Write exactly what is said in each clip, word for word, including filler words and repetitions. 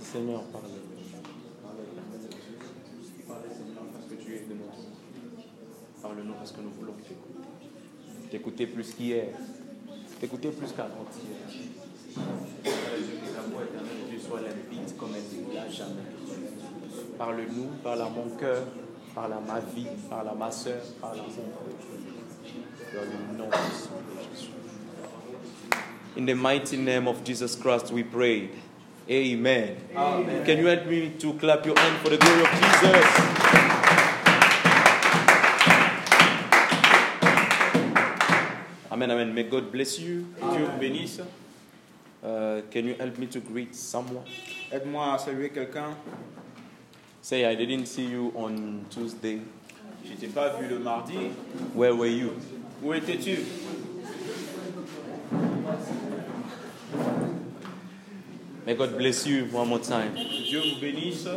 Seigneur, parle. Parle-nous parce que tu es de notre. Parle-nous parce que nous voulons t'écouter. T'écouter plus qu'hier. T'écouter plus qu'avant-hier. Que ta voix éternelle, Dieu, soit limpide comme elle ne l'a jamais. Parle-nous, parle à mon cœur, parle à ma vie, parle à ma soeur, parle à mon frère. Dans le nom de Jésus. In the mighty name of Jesus Christ, we pray. Amen. Amen. Can you help me to clap your hand for the glory of Jesus? Amen, amen. May God bless you. Que Dieu vous bénisse. Uh, can you help me to greet someone? Aide-moi à saluer quelqu'un. Say, I didn't see you on Tuesday. Je t'ai pas vu le mardi. Where were you? Où étais-tu? May God bless you one more time. Que Dieu vous bénisse.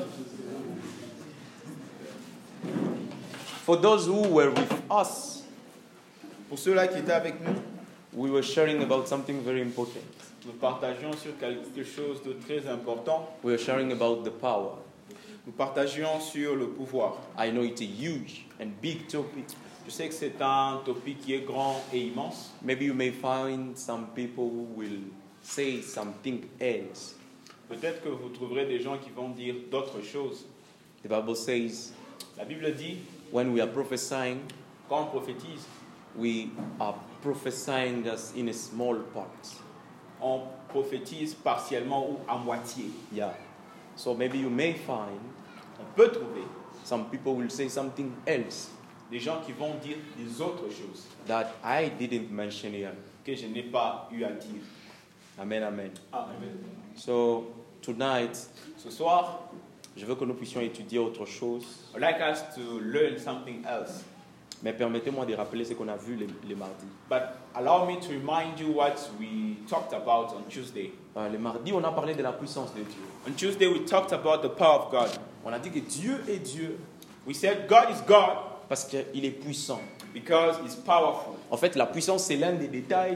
For those who were with us, Pour ceux-là qui étaient avec nous, we were sharing about something very important. nous partagions sur quelque chose de très important. We were sharing about the power. Nous partagions sur le pouvoir. I know it's a huge and big topic. Je sais que c'est un topic qui est grand et immense. Maybe you may find some people who will say something else. Peut-être que vous trouverez des gens qui vont dire d'autres choses. The Bible says, La Bible dit, when we are prophesying, quand on prophétise, we are prophesying us in a small part. on prophétise partiellement ou à moitié. Yeah. So maybe you may find On peut trouver some people will say something else des gens qui vont dire des autres choses that I didn't mention here. que je n'ai pas eu à dire. Amen, amen. Amen. So tonight, Ce soir, je veux que nous puissions étudier autre chose. I'd like us to learn something else. Mais permettez-moi de rappeler ce qu'on a vu les, les mardis. But allow me to remind you what we talked about on Tuesday. Euh, les mardis, on a parlé de la puissance de Dieu. On Tuesday, we talked about the power of God. On a dit que Dieu est Dieu We said God is God parce qu'il est puissant. because He's powerful. En fait, la puissance, c'est l'un des détails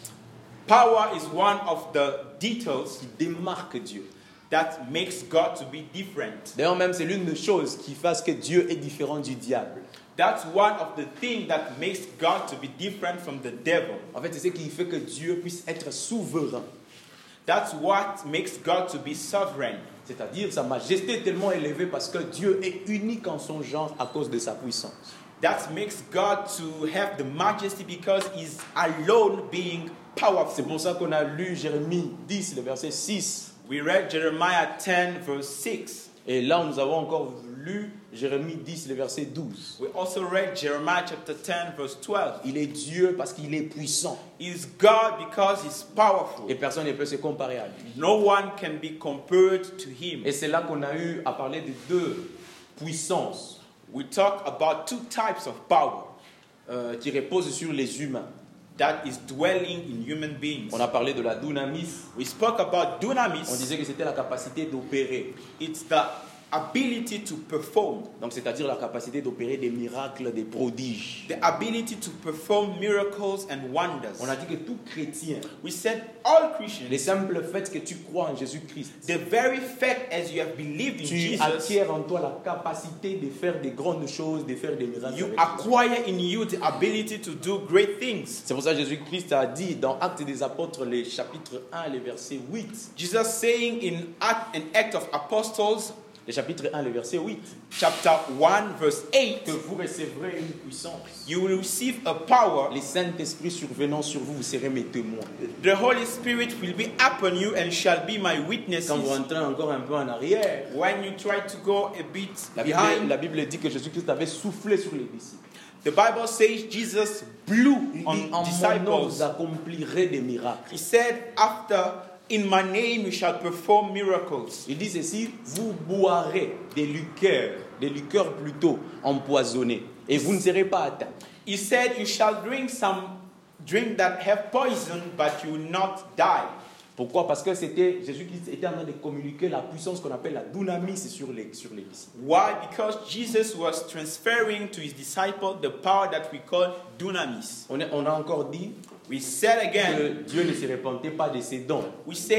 Power is one of the details qui démarque Dieu. that makes God to be different. D'ailleurs, même, c'est l'une des choses qui fait que Dieu est différent du diable. That's one of the things that makes God to be different from the devil. En fait, c'est ce qui fait que Dieu puisse être souverain. That's what makes God to be sovereign. C'est-à-dire, sa majesté est tellement élevée parce que Dieu est unique en son genre à cause de sa puissance. That makes God to have the majesty because He's alone being powerful. C'est pour ça qu'on a lu Jérémie dix, le verset six. We read Jeremiah ten verse six. Et là, nous avons encore lu Jérémie dix, le verset douze. We also read Jeremiah chapter ten verse twelve. Il est Dieu parce qu'il est puissant. He's God because He's powerful. Et personne ne peut se comparer à lui. No one can be compared to Him. Et c'est là qu'on a eu à parler de deux puissances We talk about two types of power euh, qui reposent sur les humains. that is dwelling in human beings. On a parlé de la dunamis. We spoke about On dunamis. disait que c'était la capacité d'opérer. It's the ability to perform. Donc, c'est-à-dire la capacité d'opérer des miracles, des prodiges. The ability to perform miracles and wonders. On a dit que tout chrétien, We said all le Christians, simple fait que tu crois en Jésus-Christ, the very fact as you have believed in tu Jesus, acquiers en toi la capacité de faire des grandes choses, de faire des miracles. you avec Jésus. acquire in you the ability to do great things. C'est pour ça que Jésus-Christ a dit dans Actes des Apôtres, le chapitre un, le verset huit. Jesus saying in Act, an Act of Apostles, Le chapitre un, le verset huit. chapter one, verse eight, Que vous recevrez une puissance. you will receive a power. Les Saint-Esprit survenant sur vous, vous serez mes témoins. The Holy Spirit will be upon you and shall be my witnesses. Quand vous rentrez encore un peu en arrière, When you try to go a bit la Bible, behind, la Bible dit que Jésus-Christ avait soufflé sur les disciples. the Bible says Jesus blew Il dit, on en mon nom, disciples. vous accomplirez des miracles. He said, after, in my name you shall perform miracles. Il dit ceci, vous boirez des liqueurs, des liqueurs plutôt empoisonnées, et vous ne serez pas atteints. He said, you shall drink some drink that have poison, but you will not die. Pourquoi? Parce que c'était Jésus-Christ était en train de communiquer la puissance qu'on appelle la dunamis sur les, sur les disciples. Why? Because Jesus was transferring to his disciples the power that we call dunamis. On, est, on a encore dit We said again, que Dieu ne se répandait pas de ses dons. we said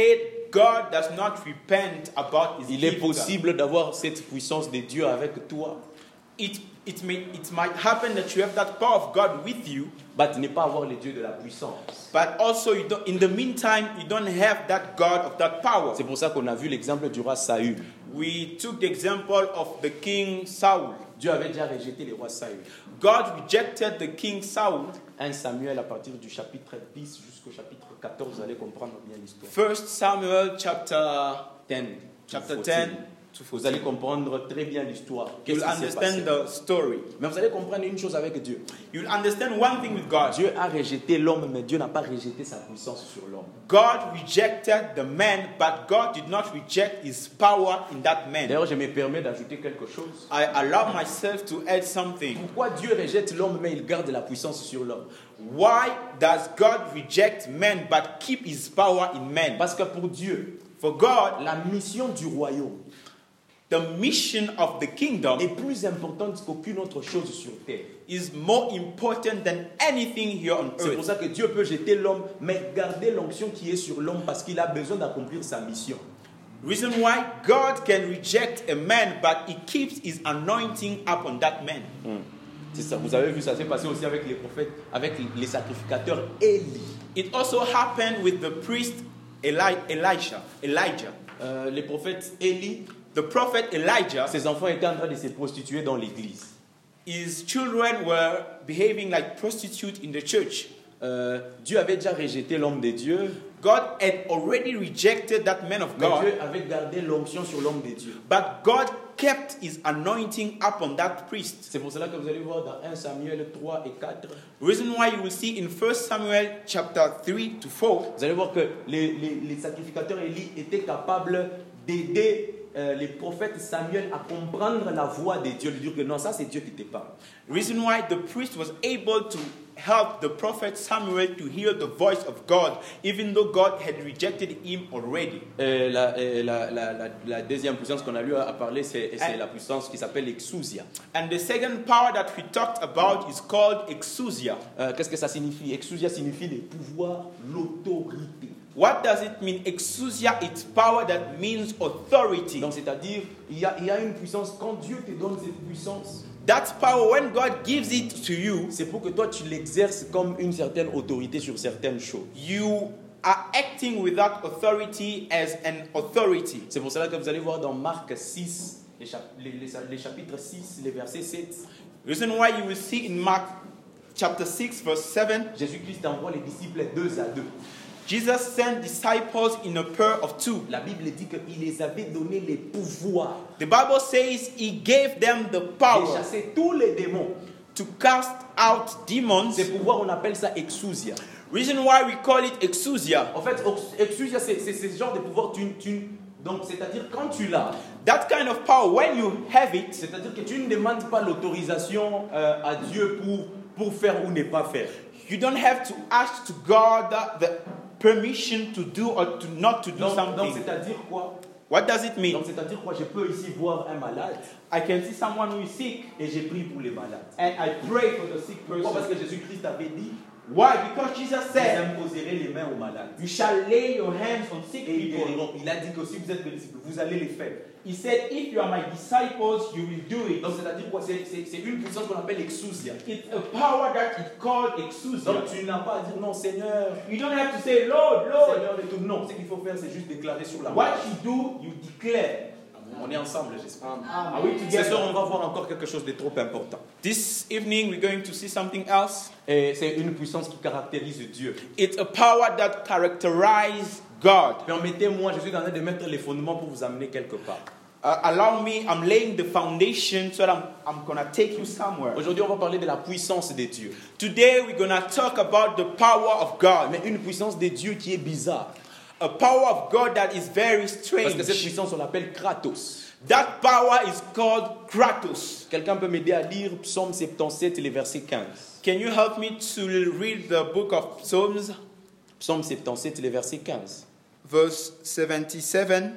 God does not repent about his Il est gift, possible d'avoir cette puissance de Dieu avec toi, it, it, may, it might happen that you have that power of God with you, mais ne pas avoir le Dieu de la puissance. but also you don't, in the meantime, you don't have that God of that power. C'est pour ça qu'on a vu l'exemple du roi Saül. We took the example of the king Saul. Dieu avait déjà rejeté le roi Saül. God rejected the king Saul. un Samuel à partir du chapitre dix jusqu'au chapitre quatorze, vous allez comprendre bien l'histoire. First Samuel chapter dix. chapter to ten. Vous allez comprendre très bien l'histoire. Qu'est-ce You'll qui s'est passé? understand the story. Mais vous allez comprendre une chose avec Dieu. You'll understand one thing with God. Dieu a rejeté l'homme, mais Dieu n'a pas rejeté sa puissance sur l'homme. God rejected the man, but God did not reject his power in that man. D'ailleurs, je me permets d'ajouter quelque chose. I allow myself to add something. Pourquoi Dieu rejette l'homme, mais il garde la puissance sur l'homme? Why does God reject man but keep his power in man? Parce que pour Dieu, For God, la mission du royaume the mission of the kingdom est plus importante qu'aucune autre chose sur terre. is more important than anything here on C'est pour earth. ça que Dieu peut jeter l'homme, mais garder l'onction qui est sur l'homme parce qu'il a besoin d'accomplir sa mission. Reason why God can reject a man, but he keeps his anointing upon that man. Hmm. C'est ça. Vous avez vu, ça s'est passé aussi avec les prophètes, avec les sacrificateurs Élie. It also happened with the priest Eli- Elisha, Elijah. Euh, les prophètes Élie, The prophet Elijah, ses enfants étaient en train de se prostituer dans l'église. his children were behaving like prostitutes in the church. Euh, Dieu avait déjà rejeté l'homme de Dieu, God had already rejected that man of mais God, Dieu avait gardé l'onction sur l'homme de Dieu. but God kept his anointing upon that priest. C'est pour cela que vous allez voir dans un Samuel trois et quatre, Reason why you will see in First Samuel chapter three to four, vous allez voir que les, les, les sacrificateurs Élie étaient capables d'aider euh, les prophètes Samuel à comprendre la voix de Dieu, lui dire que non, ça c'est Dieu qui te parle. reason why the priest was able to help the prophet Samuel to hear the voice of God, even though God had rejected him already. Euh, la, euh, la, la, la, la deuxième puissance qu'on a lu à parler, c'est c'est And- la puissance qui s'appelle l'exousia. And the second power that we talked about is called exousia. Euh, Qu'est-ce que ça signifie? Exousia signifie le pouvoir, l'autorité. What does it mean? Exousia, it's power that means authority. Donc c'est-à-dire, il y, a, il y a une puissance, quand Dieu te donne cette puissance, That power, when God gives it to you, c'est pour que toi tu l'exerces comme une certaine autorité sur certaines choses. you are acting with that authority as an authority. C'est pour cela que vous allez voir dans Marc six, les, chap- les, les, les chapitres six, les versets sept, Reason why you will see in Mark chapter six, verse seven, Jésus-Christ envoie les disciples deux à deux. Jesus sent disciples in a pair of two. La Bible dit qu'il les avait donné les pouvoirs The Bible says he gave them the de power chasser tous les démons. to cast out demons. Ces pouvoirs, on appelle ça exousia. Reason why we call it exousia. En fait, exousia, c'est c'est ce genre de pouvoir. Tu, tu, donc, c'est-à-dire quand tu l'as, That kind of power, when you have it, c'est-à-dire que tu ne demandes pas l'autorisation euh, à Dieu pour, pour faire ou ne pas faire. you don't have to ask to God the permission to do or to not to do Donc, donc something. c'est-à-dire quoi? What does it mean? Donc, c'est-à-dire quoi? Je peux ici voir un malade I can see someone who is sick et j'ai pris pour les malades. and I pray for the sick Pourquoi? Parce person. que Jésus-Christ avait dit, Why? Because Jesus vous said, imposerez les mains aux malades. you shall lay your hands on sick Et ils people. guériront. Il a dit que si vous êtes mes disciples, vous allez les faire. He said, if you are my disciples, you will do it. Donc, c'est-à-dire quoi? C'est c'est- c'est une puissance qu'on appelle exousia. It's a power that is called exousia. Donc, tu n'as pas à dire non, Seigneur. You don't have to say, Lord, Lord. Seigneur et tout. Non, ce qu'il faut faire, c'est juste déclarer sur la What main. you do, you declare. On est ensemble, j'espère. Are we Ce soir, together? on va voir encore quelque chose de trop important. This evening, we're going to see something else. Et c'est une puissance qui caractérise Dieu. It's a power that characterizes God. Permettez-moi, je suis en train de mettre les fondements pour vous amener quelque part. Uh, allow me, I'm laying the foundation so that I'm, I'm going to take you somewhere. Aujourd'hui, on va parler de la puissance de Dieu. Today, we're going to talk about the power of God. Mais une puissance de Dieu qui est bizarre. A power of God that is very Parce que cette strange. puissance, on l'appelle Kratos. That power is called Kratos. Quelqu'un peut m'aider à lire Psaume soixante-dix-sept, les versets quinze. Can you help me to read the book of Psalms, Psaume soixante-dix-sept, les versets quinze. verse seventy-seven,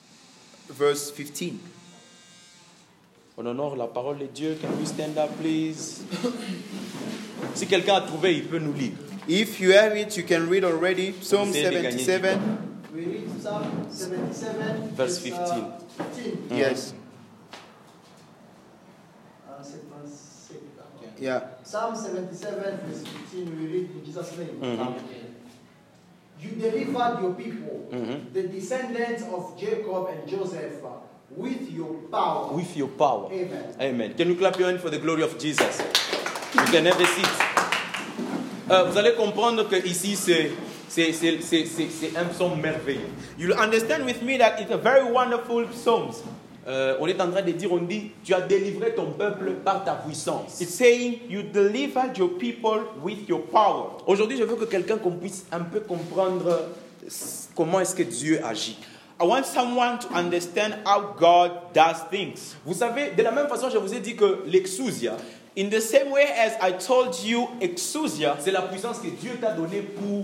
verse fifteen? On honore la parole de Dieu. Can we stand up, please? Si quelqu'un a trouvé, il peut nous lire. If you have it, you can read already. Psalm Essayez de gagner du seventy-seven, We read Psalm seventy-seven, Verse uh, fifteen. fifteen. Yes. Uh, seventy-six. Yeah. Psalm seventy-seven, verse fifteen, we read in Jesus' name. Mhm. You delivered your people, Mhm. the descendants of Jacob and Joseph, uh, with your power. With your power. Amen. Amen. Can you clap your hands for the glory of Jesus? You can have a seat. Euh, vous allez comprendre que ici c'est c'est c'est c'est c'est c'est un psaume merveilleux. You'll understand with me that it's a very wonderful psalm. Euh, on est en train de dire, on dit, tu as délivré ton peuple par ta puissance. It's saying you delivered your people with your power. Aujourd'hui, je veux que quelqu'un qu'on puisse un peu comprendre comment est-ce que Dieu agit. I want someone to understand how God does things. Vous savez, de la même façon, je vous ai dit que l'exousia, In the same way as I told you, exousia, c'est la puissance que Dieu t'a donnée pour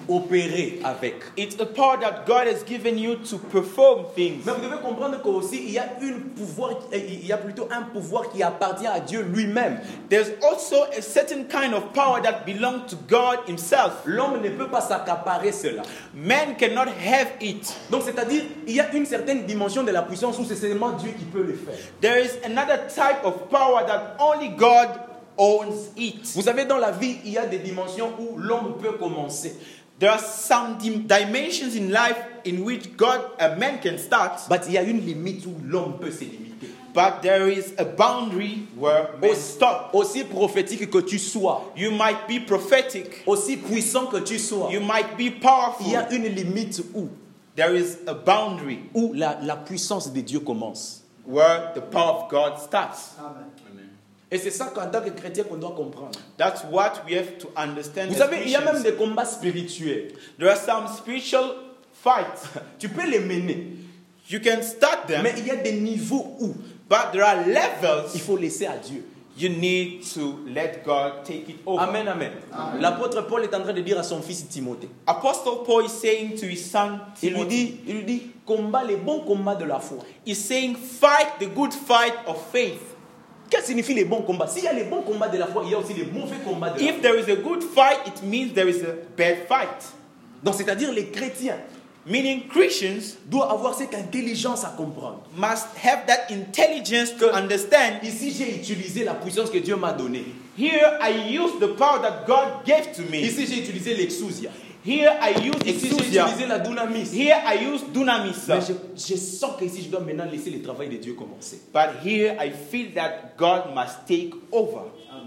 opérer avec. it's a power that God has given you to perform things. Mais vous devez comprendre qu'aussi, il y a une pouvoir, il y a plutôt un pouvoir qui appartient à Dieu lui-même. There's also a certain kind of power that belongs to God himself. L'homme ne peut pas s'accaparer cela. Man cannot have it. Donc, c'est-à-dire, il y a une certaine dimension de la puissance où c'est seulement Dieu qui peut le faire. There is another type of power that only God owns it. Vous savez, dans la vie, il y a des dimensions où l'homme peut commencer. There are some dim- dimensions in life in which God, a man can start, Mais il y a une limite où l'homme peut se limiter. but there is a boundary where man stop. Aussi prophétique que tu sois, You might be prophetic. aussi puissant que tu sois, You might be il y powerful. a une limite où, There is a boundary où la, la puissance de Dieu commence. where the power of God starts. Amen. Et c'est ça qu'en tant que chrétien qu'on doit comprendre. That's what we have to understand. Vous as savez, il y a même Christians. des combats spirituels. There are some spiritual fights. Tu peux les mener, You can start them, mais il y a des niveaux où but there are il levels faut laisser à Dieu. you need to let God take it over. Amen, amen. Amen. L'apôtre Paul est en train de dire à son fils Timothée. Apostle Paul is saying to his son Il lui Timothy, dit, il lui dit, combat les bons combats de la foi. he's saying, fight the good fight of faith. Qu'est-ce que signifie les bons combats? S'il y a les bons combats de la foi, il y a aussi les mauvais combats de la If foi. there is a good fight, it means there is a bad fight. Donc, c'est-à-dire les chrétiens Meaning Christians doivent avoir cette intelligence à comprendre. must have that intelligence to understand. Ici, j'ai utilisé la puissance que Dieu m'a donnée. Here I use the power that God gave to me. Ici, j'ai utilisé l'exousia. Here I use Ici, j'ai exousia. utilisé la dunamis. Here I use dunamis. Mais je, je sens que ici, je dois maintenant laisser le travail de Dieu commencer. But here I feel that God must take over.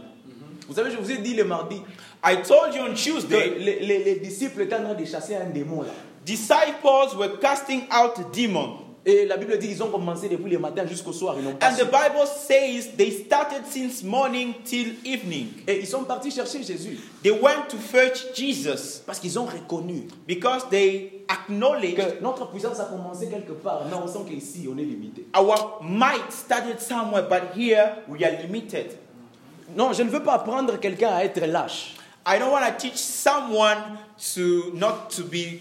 Vous savez, je vous ai dit le mardi I told you on que Tuesday, les, les- les disciples étaient en train de chasser un démon là. disciples were casting out a demon. Et la Bible dit qu'ils ont commencé depuis le matin jusqu'au soir. Ils n'ont pas And the su. Bible says they started since morning till evening. Et ils sont partis chercher Jésus. They went to fetch Jesus Parce qu'ils ont reconnu because they acknowledged que notre puissance a commencé quelque part. Mais on sent qu'ici, on est limité. our might started somewhere, but here we are limited. Non, je ne veux pas apprendre quelqu'un à être lâche. I don't want to teach someone to not to be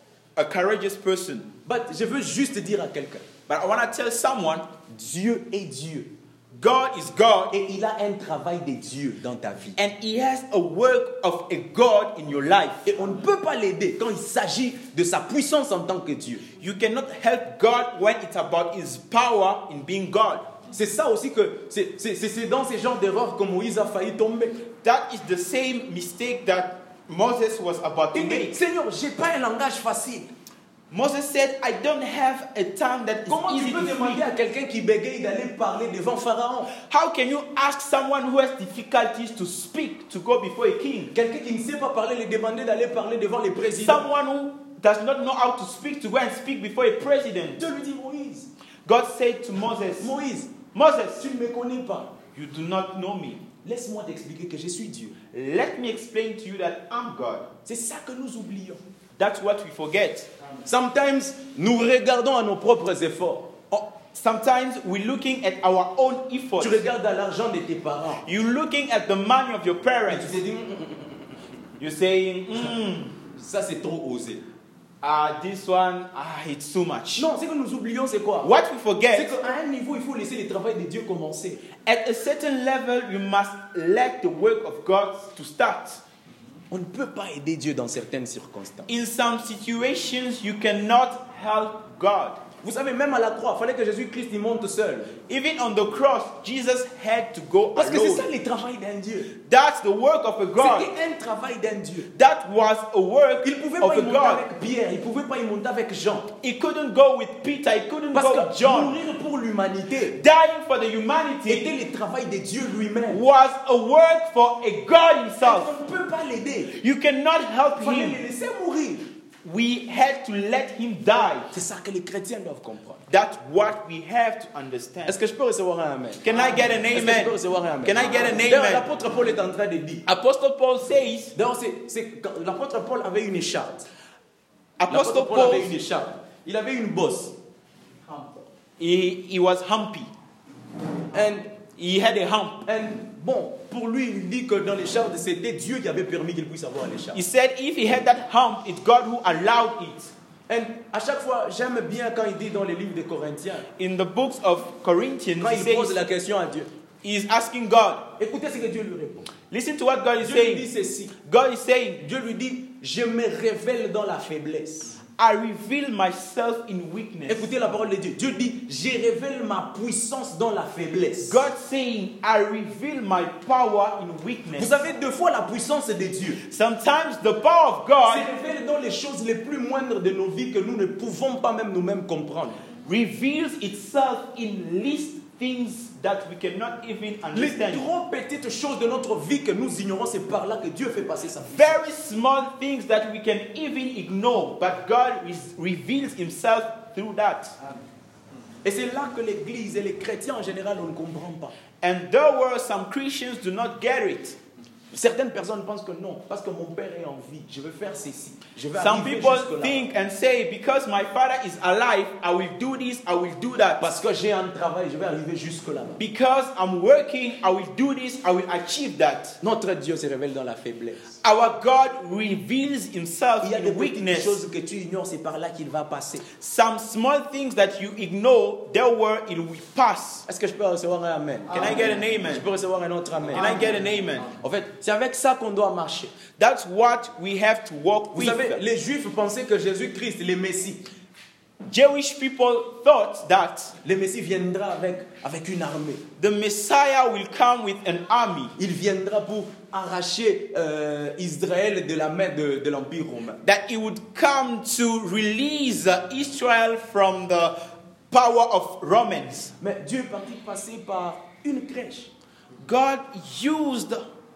a courageous person, But je veux juste dire à quelqu'un, but I want to tell someone Dieu est Dieu. God is God, Et il a un travail de Dieu dans ta vie. and He has a work of a God in your life. Et on ne peut pas l'aider quand il s'agit de sa puissance en tant que Dieu. You cannot help God when it's about His power in being God. C'est ça aussi que c'est c'est- c'est- c'est dans ces genres d'erreurs que Moïse a failli tomber. That is the same mistake that Moses was about to Il dit, make. Seigneur, j'ai pas un langage facile. Moses said, I don't have a tongue that is Comment tu easy peux to demander speak. à quelqu'un qui bégaye d'aller parler devant Pharaon? How can you ask someone who has difficulties to speak to go before a king? Quelqu'un qui ne sait pas parler, lui demander d'aller parler devant les présidents. Someone who does not know how to speak to go and speak before a president. Dieu lui dit, Moïse, God said to Moses, Moïse, Moses, tu ne me connais pas. you do not know me. Laisse-moi t'expliquer que je suis Dieu. Let me explain to you that I'm God. C'est ça que nous oublions. That's what we forget. Sometimes, nous regardons à nos propres efforts. Oh, sometimes we're looking at our own efforts. Tu regardes à l'argent de tes parents. You're looking at the money of your Et parents. tu te dis, Hum, hum, hum, You're saying, mm, ça c'est trop osé. ah, this one, ah, it's too much. Non, ce que nous oublions, c'est quoi? What we C'est forget, qu'à un niveau, il faut laisser le travail de Dieu commencer. at a certain level, you must let the work of God to start. On ne peut pas aider Dieu dans certaines circonstances. In some situations, you cannot help God. Vous savez, même à la croix, il fallait que Jésus-Christ y monte seul. Even on the cross, Jesus had to go Parce que c'est ça alone. le travail d'un Dieu. That's the work of a God. C'était un travail d'un Dieu. That was a work Il ne pouvait of pas a y monter God. avec Pierre, il ne pouvait pas y monter avec Jean. He couldn't go with Peter, he couldn't Parce go with que John. mourir pour l'humanité Dying for the humanity était le travail de Dieu lui-même. was a work for a God himself. On ne peut pas l'aider. You cannot help Il fallait him. le laisser mourir. We had to let him die. C'est ça que les chrétiens doivent comprendre. That's what we have to understand. Est-ce que je peux recevoir un amen? Can I get an Est-ce que je peux amen? recevoir un amen? Can I get an D'ailleurs, amen? l'apôtre Paul est en train de dire. Apostle Paul says, D'ailleurs, c'est, c'est, quand l'apôtre Paul avait une écharpe. L'apôtre Apostle Paul Paul, avait une écharpe. Il avait une bosse. he, he was humpy. And, He had a hump. and bon, pour lui, il dit que dans l'écharpe, c'était Dieu qui avait permis qu'il puisse avoir l'écharpe. He said if he had that hump, it's God who allowed it. And à chaque fois, j'aime bien quand il dit dans les livres des Corinthiens, In the books of Corinthians, quand he il pose says la question à Dieu, he's asking God. écoutez ce que Dieu lui répond. Listen to what God is Dieu lui dit saying. ceci. God is saying, Dieu lui dit, je me révèle dans la faiblesse. I reveal myself in weakness. Écoutez la parole de Dieu. Dieu dit, je révèle ma puissance dans la faiblesse. God saying, I reveal my power in weakness. Vous savez, deux fois la puissance de Dieu Sometimes the power of God se révèle dans les choses les plus moindres de nos vies que nous ne pouvons pas même nous-mêmes comprendre. reveals itself in least things that we cannot even Les understand. trop petites choses de notre vie que nous ignorons, c'est par là que Dieu fait passer sa puissance. Very small things that we can even ignore, but God re- reveals himself through that. Et c'est là que l'Église et les chrétiens en général on ne comprennent pas. And there were some Christians do not get it. Certaines personnes pensent que non, parce que mon père est en vie, je vais faire ceci. Je vais Some arriver people jusque-là. think and say, because my father is alive, I will do this, I will do that. Parce que j'ai un travail, je vais arriver jusque-là. Because I'm working, I will do this, I will achieve that. Notre Dieu se révèle dans la faiblesse. Our God reveals himself Il y a des in petites weakness. choses que tu ignores, c'est par là qu'il va passer. Some small things that you ignore, there where it will pass. Est-ce que je peux recevoir un amen? Can I get an Je amen? peux recevoir un autre amen. Can I get an amen? En fait, c'est avec ça qu'on doit marcher. That's what we have to walk Vous with. savez, les Juifs pensaient que Jésus-Christ, le Messie, Jewish people thought that le Messie viendra avec, avec une armée. the Messiah will come with an army, Il viendra pour arracher euh, Israël de la main de, de l'Empire romain. that he would come to release uh, Israel from the power of Romans. Mais Dieu est parti passer par une crèche. God used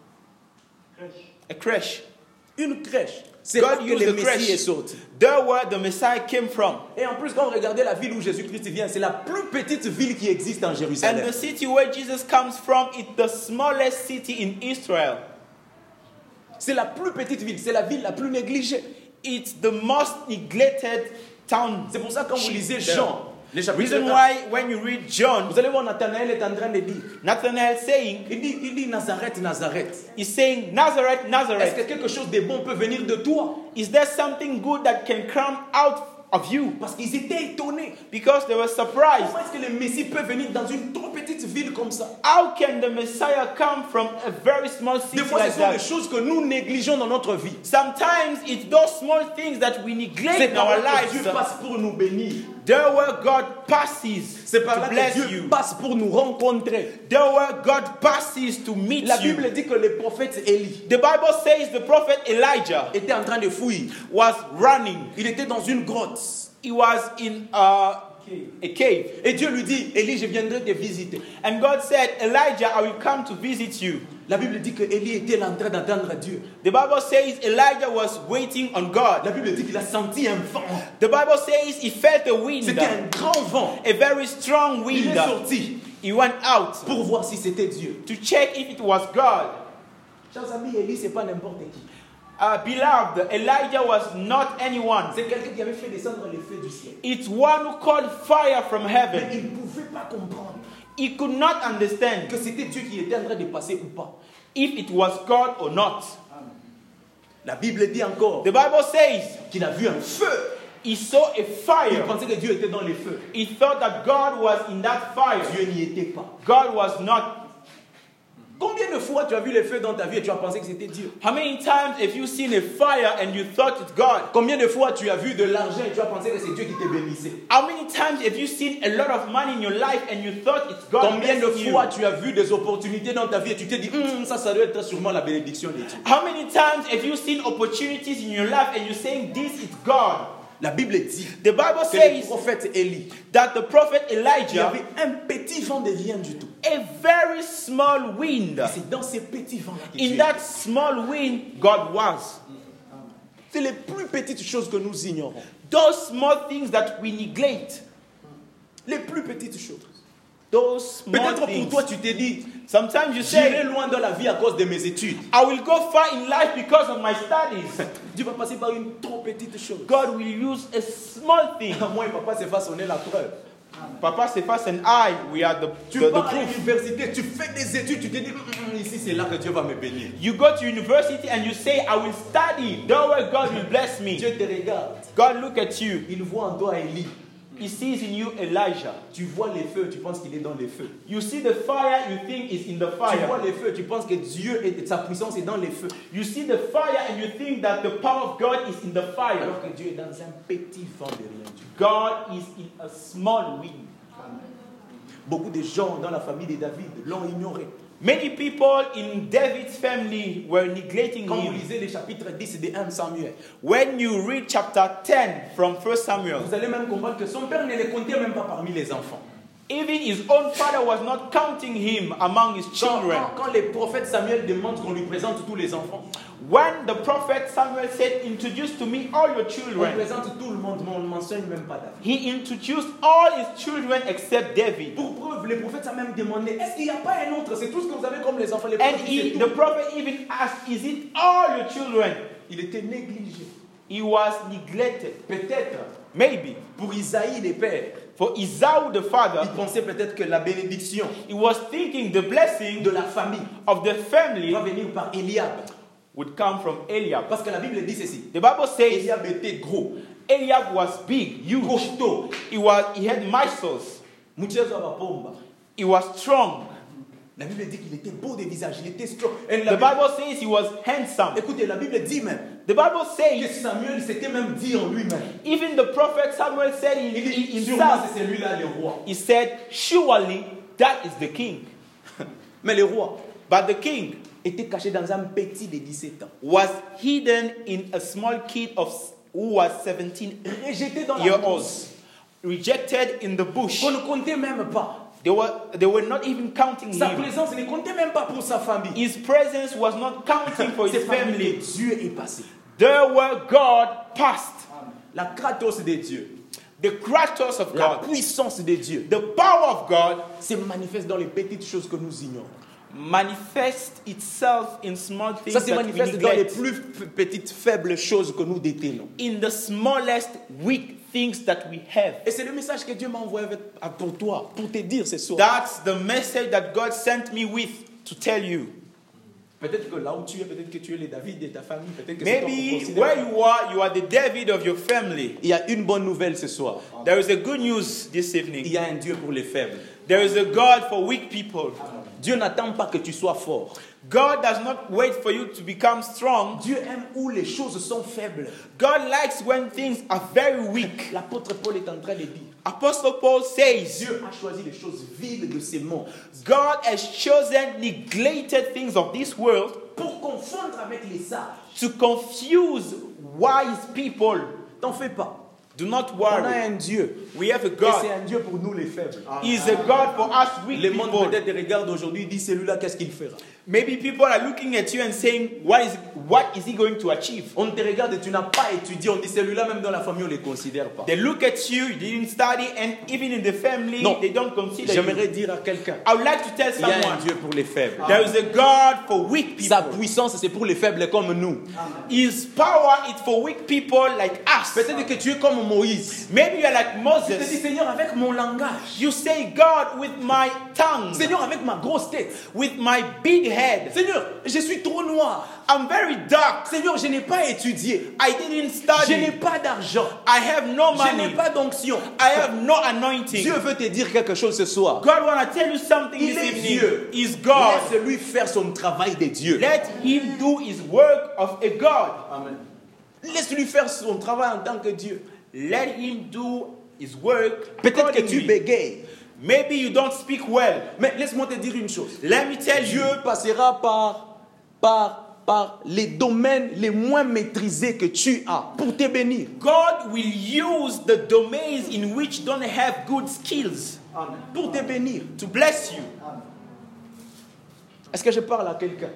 a crèche. Une crèche. C'est God là que used le the Messie crèche. est sorti. There where the Messiah came from. Et en plus, quand on regardait la ville où Jésus-Christ vient, c'est la plus petite ville qui existe en And Jérusalem. the city where Jesus comes from is the smallest city in Israel. C'est la plus petite ville, c'est la ville la plus négligée. It's the most neglected town. C'est pour ça que quand vous lisez Jean, les chapitres Reason un, why when you read John, vous allez voir Nathanaël est en train de dire, Nathanael saying, il dit, il dit Nazareth, Nazareth. he's saying, Nazareth, Est-ce Nazareth, que quelque chose de bon peut venir de toi? is there something good that can come out of you? Parce qu'ils étaient étonnés. Because they were surprised. Comment est-ce que le Messie peut venir dans une trop petite ville comme ça? How can the Messiah come from a very small city Des fois, like ce sont des that? choses que nous négligeons dans notre vie. Sometimes it's those small things that we neglect C'est in par our là que Dieu lives. passe pour nous bénir. There where God passes C'est par to là que bless Dieu you. passe pour nous rencontrer. There where God passes to meet La you. Bible dit que le prophète Élie The Bible says the prophet Elijah était en train de fouiller. was running. Il était dans une grotte. He was in uh, a cave. Et Dieu lui dit, Élie, je viendrai te visiter. And God said, Elijah, I will come to visit you. La Bible dit que Élie était en train d'entendre Dieu. The Bible says Elijah was waiting on God. La Bible dit qu'il a senti un vent. The Bible says he felt a wind, C'était un grand vent. a very strong Il wind. est sorti He went out pour voir si c'était Dieu. to check if it was God. Chers amis, Élie, c'est pas n'importe qui. Uh, beloved, Elijah was not anyone. C'est quelqu'un qui avait fait descendre les feux du ciel. It's one who called fire from Mais heaven. il ne pouvait pas comprendre He could not understand que c'était Dieu qui était en train de passer ou pas. if it was God or not. La Bible dit encore The Bible says qu'il a vu un feu. he saw a Il fire. pensait que Dieu était dans les feux. He thought that God was in that fire. Dieu n'y était pas. God was not. Combien de fois tu as vu les feux dans ta vie et tu as pensé que c'était Dieu? How many times have you seen a fire and you thought it's God? Combien de fois tu as vu de l'argent et tu as pensé que c'est Dieu qui te bénissait? How many times have you seen a lot of money in your life and you thought it's God Combien de blessing you? fois tu as vu des opportunités dans ta vie et tu t'es dit, Hum, ça, ça doit être sûrement la bénédiction de Dieu. How many times have you seen opportunities in your life and you're saying this is God? La Bible dit The Bible que le says prophète Élie, that the prophet il y Elijah, avait un petit vent de rien du tout. a very small wind, Et c'est dans ces petits vents-là que in Dieu that small wind, God was. C'est les plus petites choses que nous ignorons. Those small things that we neglect, Les plus petites choses. those small Peut-être pour things. toi, tu t'es dit, Sometimes you j'irai say, loin dans la vie à cause de mes études. I will go far in life because of my studies. Dieu va passer par une trop petite chose. God will use a small thing. Moi et papa s'est façonné la preuve. Papa Cephas and I, we are the, Tu the, the pars à proof. l'université, tu fais des études, tu te dis, Hum, hum, ici c'est là que Dieu va me bénir. You go to university and you say, I will study. There where God will bless me. Dieu te regarde. God look at you. Il voit en toi Élie. He sees in you Elijah. Tu vois les feux, tu penses qu'il est dans les feux. You see the fire, you think it's in the Tu vois fire. les feux, tu penses que Dieu et sa puissance est dans les feux. You see the fire and you think that the power of God is in the fire. Alors que Dieu est dans un petit vent de rien du tout. God is in a small wind. Beaucoup de gens dans la famille de David l'ont ignoré. Many people in David's family were neglecting Quand vous him. lisez les chapitres dix de premier Samuel, When you read chapter ten from First Samuel, vous allez même comprendre que son père ne les comptait même pas parmi les enfants. even his own father was not counting him among his Quand, children. quand, quand les prophètes Samuel demandent qu'on lui présente tous les enfants, When the prophet Samuel said, introduce to me all your on children, présente tout le monde, mais on ne mentionne même pas David. he introduced all his children except David. Pour preuve, les prophètes ont même demandé, est-ce qu'il n'y a pas un autre? C'est tout ce que vous avez comme les enfants. Les And prophètes, he, c'est the tout. prophet even asked, is it all your children? Il était négligé. He was neglected. Peut-être, Maybe. pour Isaïe, les pères, For Esau the il father, pensait peut-être que la bénédiction he was thinking the blessing de la famille of the family va venir par Eliab. would come from Eliab. Parce que la Bible dit ceci. The Bible says Eliab était gros, Eliab was big, huge. costaud, He was he had muscles. mchezo wa pomba. He was strong. La Bible dit qu'il était beau de visage, il était strong. Et The la Bible says he was handsome. Écoutez, la Bible dit même The Bible que says Samuel s'était même dit en lui-même. even the prophet Samuel said in, Il in dit, sûrement himself, c'est celui-là le roi. he said, surely that is the king. Mais le roi But the king était caché dans un petit de dix-sept ans. was hidden in a small kid of who was seventeen Rejeté dans la years old, brousse. rejected in the bush. Qu'on ne comptait même pas. They were they were not even counting Sa him. présence ne comptait même pas pour sa famille. His presence was not counting for his C'est parmi family. que Dieu est passé. There where God passed, La kratos de Dieu, the Kratos of la God, puissance de Dieu, the power of God se manifeste dans les petites choses que nous ignorons. manifests itself in small things Ça se that we manifeste dans les neglect, plus f- petites, faibles choses que nous détenons. in the smallest weak things that we have. Et c'est le message que Dieu m'a envoyé avec- à- pour toi, pour te dire ce soir. That's the message that God sent me with to tell you. Peut-être que là où tu es, peut-être que tu es le David de ta famille, peut-être que c'est toi qu'on Maybe considère. where you are, you are the David of your family. Il y a une bonne nouvelle ce soir. There is a good news this Il evening. y a un Dieu pour les faibles. There is a God for weak people. Dieu n'attend pas que tu sois fort. God does not wait for you to become strong. Dieu aime où les choses sont faibles. God likes when things are very weak. L'apôtre Paul est en train de dire, Apostle Paul says, Dieu a choisi les choses viles de ces mondes God has chosen neglected things of this world pour confondre avec les sages. to confuse wise people. T'en fais pas. Do not On a worry. un Dieu. We have a Et c'est God. un Dieu pour nous les faibles. He is a God for us weak Le monde people. peut-être regarde aujourd'hui et dit celui-là qu'est-ce qu'il fera. Maybe people are looking at you and saying, what is, what is he going to achieve? On te regarde et tu n'as pas étudié. On dit celui-là même dans la famille on ne les considère pas. They look at you, you didn't study, and even in the family, Non. they don't consider J'aimerais you. dire à quelqu'un, I would like to tell il y a un someone, Dieu pour les faibles. there is a God for weak Sa people. puissance c'est pour les faibles comme nous. His power is for weak people like us. Peut-être que tu es comme comme Moïse. Maybe you are like Tu te dis, Moses. Seigneur, avec mon langage. You say, God, with my tongue, Seigneur, avec ma grosse tête. with my big head, Seigneur, je suis trop noir. I'm very dark. Seigneur, je n'ai pas étudié. I didn't Je n'ai study. pas d'argent. I have no Je n'ai money. pas d'onction. I have no anointing. Dieu veut te dire quelque chose ce soir. God want to tell you something Il this est evening. Dieu. Is God. Laisse-lui faire son travail de Dieu. Let him do his work of a God. Amen. Laisse-lui faire son travail en tant que Dieu. Let him do his work. Peut-être que tu accordingly. bégayes. Maybe you don't speak well. Mais laisse-moi te dire une chose. Let me tell Dieu you, passera par, par, par les domaines les moins maîtrisés que tu as pour te bénir. God will use the domains in which don't have good skills Pour te bénir. to bless you. Est-ce que je parle à quelqu'un?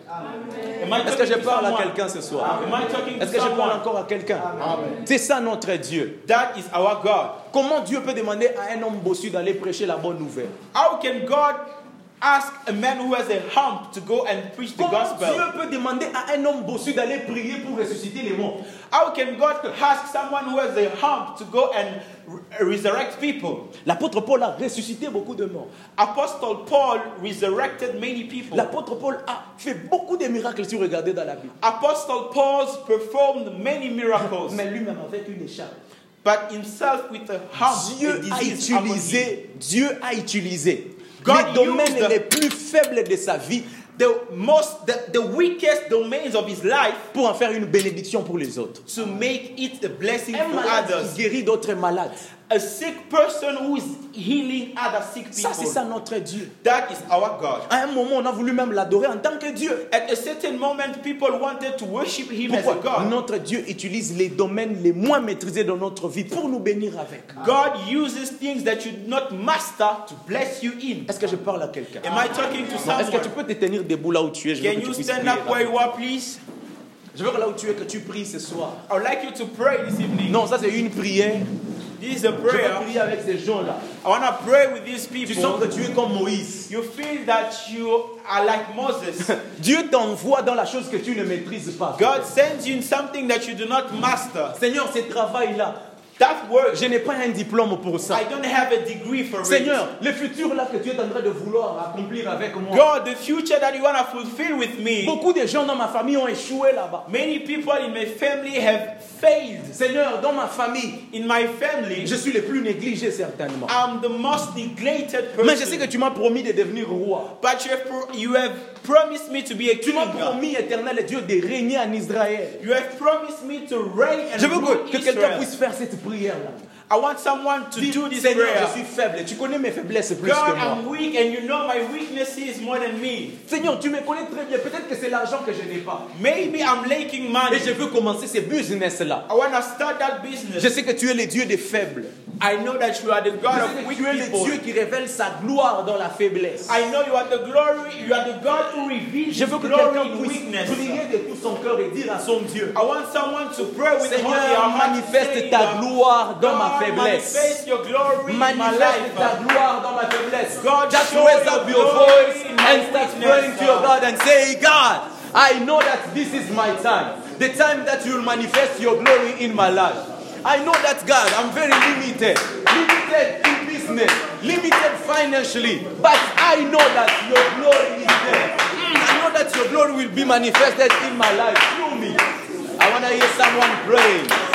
Am I Est-ce que je talking to parle à someone? quelqu'un ce soir? Am I talking to Est-ce que je parle someone? encore à quelqu'un? C'est ça notre Dieu. That is our God. Comment Dieu peut demander à un homme bossu d'aller prêcher la bonne nouvelle? How can God ask a man who has a hump to go and preach the Comment gospel? Dieu peut demander à un homme bossu d'aller prier pour ressusciter les morts? How can God ask someone who has a hump to go and re- resurrect people? L'apôtre Paul a ressuscité beaucoup de morts. Apostle Paul resurrected many people. L'apôtre Paul a fait beaucoup de miracles si vous regardez dans la Bible. Apostle Paul performed many miracles, Mais lui-même avec une écharpe. but himself with a hump, Dieu a a disease upon him. utilisé, Dieu a utilisé God les domaines used the- les plus faibles de sa vie The most, the, the weakest domains of his life pour en faire une bénédiction pour les autres. to make it a blessing Un for malade others. qui guérit d'autres malades. A sick person who is healing other sick Ça, c'est people. ça notre Dieu. That is our God. À un moment, on a voulu même l'adorer en tant que Dieu. At a certain moment, people wanted to worship him as a Pourquoi? God. Notre Dieu utilise les domaines les moins maîtrisés de notre vie pour nous bénir avec. God uses things that you do not master to bless you in. Est-ce que je parle à quelqu'un? Am I talking to Non, est-ce que tu someone? peux te tenir debout là où tu es? Je veux Can que tu you puisses stand prier up là. where you are, please? Je veux que là où tu es, que tu pries ce soir. I would like you to pray this evening. Non, ça c'est une prière. This is a Je veux prayer. prier avec ces gens-là. I want to pray with these Tu sens people. que tu es comme Moïse. You feel that you are like Moses. Dieu t'envoie dans la chose que tu ne maîtrises pas. God sends you in something that you do not master. Seigneur, ce travail-là, That work, je n'ai pas un diplôme pour ça. I don't have a degree for Seigneur, it. le futur là que tu es en train de vouloir accomplir avec moi. God, the future that you want to fulfill with me. Beaucoup de gens dans ma famille ont échoué là-bas. Many people in my family have failed. Seigneur, dans ma famille, In my family, je suis le plus négligé certainement. I'm the most neglected Mais je sais que person. tu m'as promis de devenir roi. But you have, pro- you have promised me to be a Tu king. m'as promis, éternel Dieu, de régner en Israël. You have promised me to reign and Je veux rule que, que quelqu'un Israel. puisse faire cette prière-là. I want someone to Dis, do this Seigneur, prayer. je suis faible. Tu connais mes faiblesses plus God, que moi. I'm weak and you know my weaknesses more than me. Seigneur, tu me connais très bien. Peut-être que c'est l'argent que je n'ai pas. Maybe I'm lacking Et money. je veux commencer ce business-là. I want to start that business. Je sais que tu es le Dieu des faibles. I know that you are the Je God sais of que weak tu es le people. Dieu qui révèle sa gloire dans la faiblesse. I know you are the glory. You are the God who reveals Je His veux que glory quelqu'un in puisse weakness. prier de tout son cœur et dire à son Dieu, I want someone to pray with all their Seigneur, heart. manifeste saying, ta gloire dans ma God, faiblesse. manifest your glory in my Manifeste life. ta gloire dans ma faiblesse. God, Just show raise your up your glory voice in my and start weakness. praying to your God and say, God, I know that this is my time. The time that you will manifest your glory in my life. I know that, God, I'm very limited. Limited in business. Limited financially. But I know that your glory is there. I know that your glory will be manifested in my life through me. I want to hear someone praying.